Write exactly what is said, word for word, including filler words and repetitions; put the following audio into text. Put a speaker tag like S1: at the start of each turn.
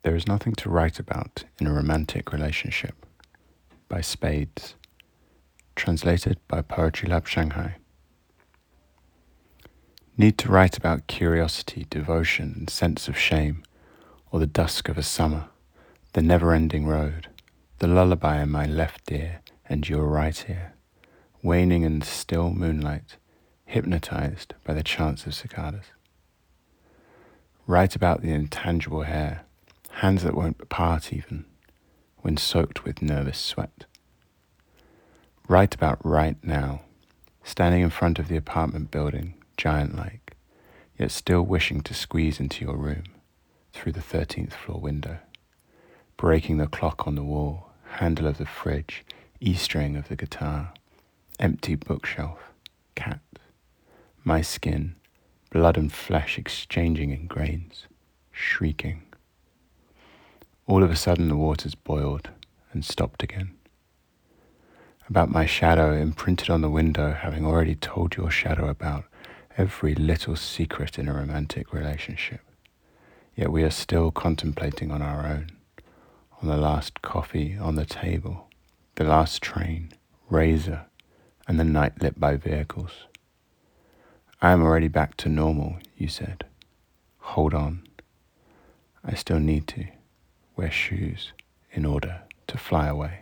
S1: There is nothing to write about in a romantic relationship, by Spades, translated by Poetry Lab Shanghai. Need to write about curiosity, devotion, and sense of shame, or the dusk of a summer, the never-ending road, the lullaby in my left ear and your right ear, waning in the still moonlight, hypnotized by the chants of cicadas. Write about the intangible hair, hands that won't part even, when soaked with nervous sweat. Write about right now, standing in front of the apartment building, giant-like, yet still wishing to squeeze into your room through the thirteenth floor window, breaking the clock on the wall, handle of the fridge, E-string of the guitar, empty bookshelf, cat, my skin, blood and flesh exchanging in grains, shrieking. All of a sudden the waters boiled and stopped again. About my shadow imprinted on the window, having already told your shadow about every little secret in a romantic relationship. Yet we are still contemplating on our own, on the last coffee on the table, the last train, razor, and the night lit by vehicles. I am already back to normal, you said. Hold on. I still need to wear shoes in order to fly away.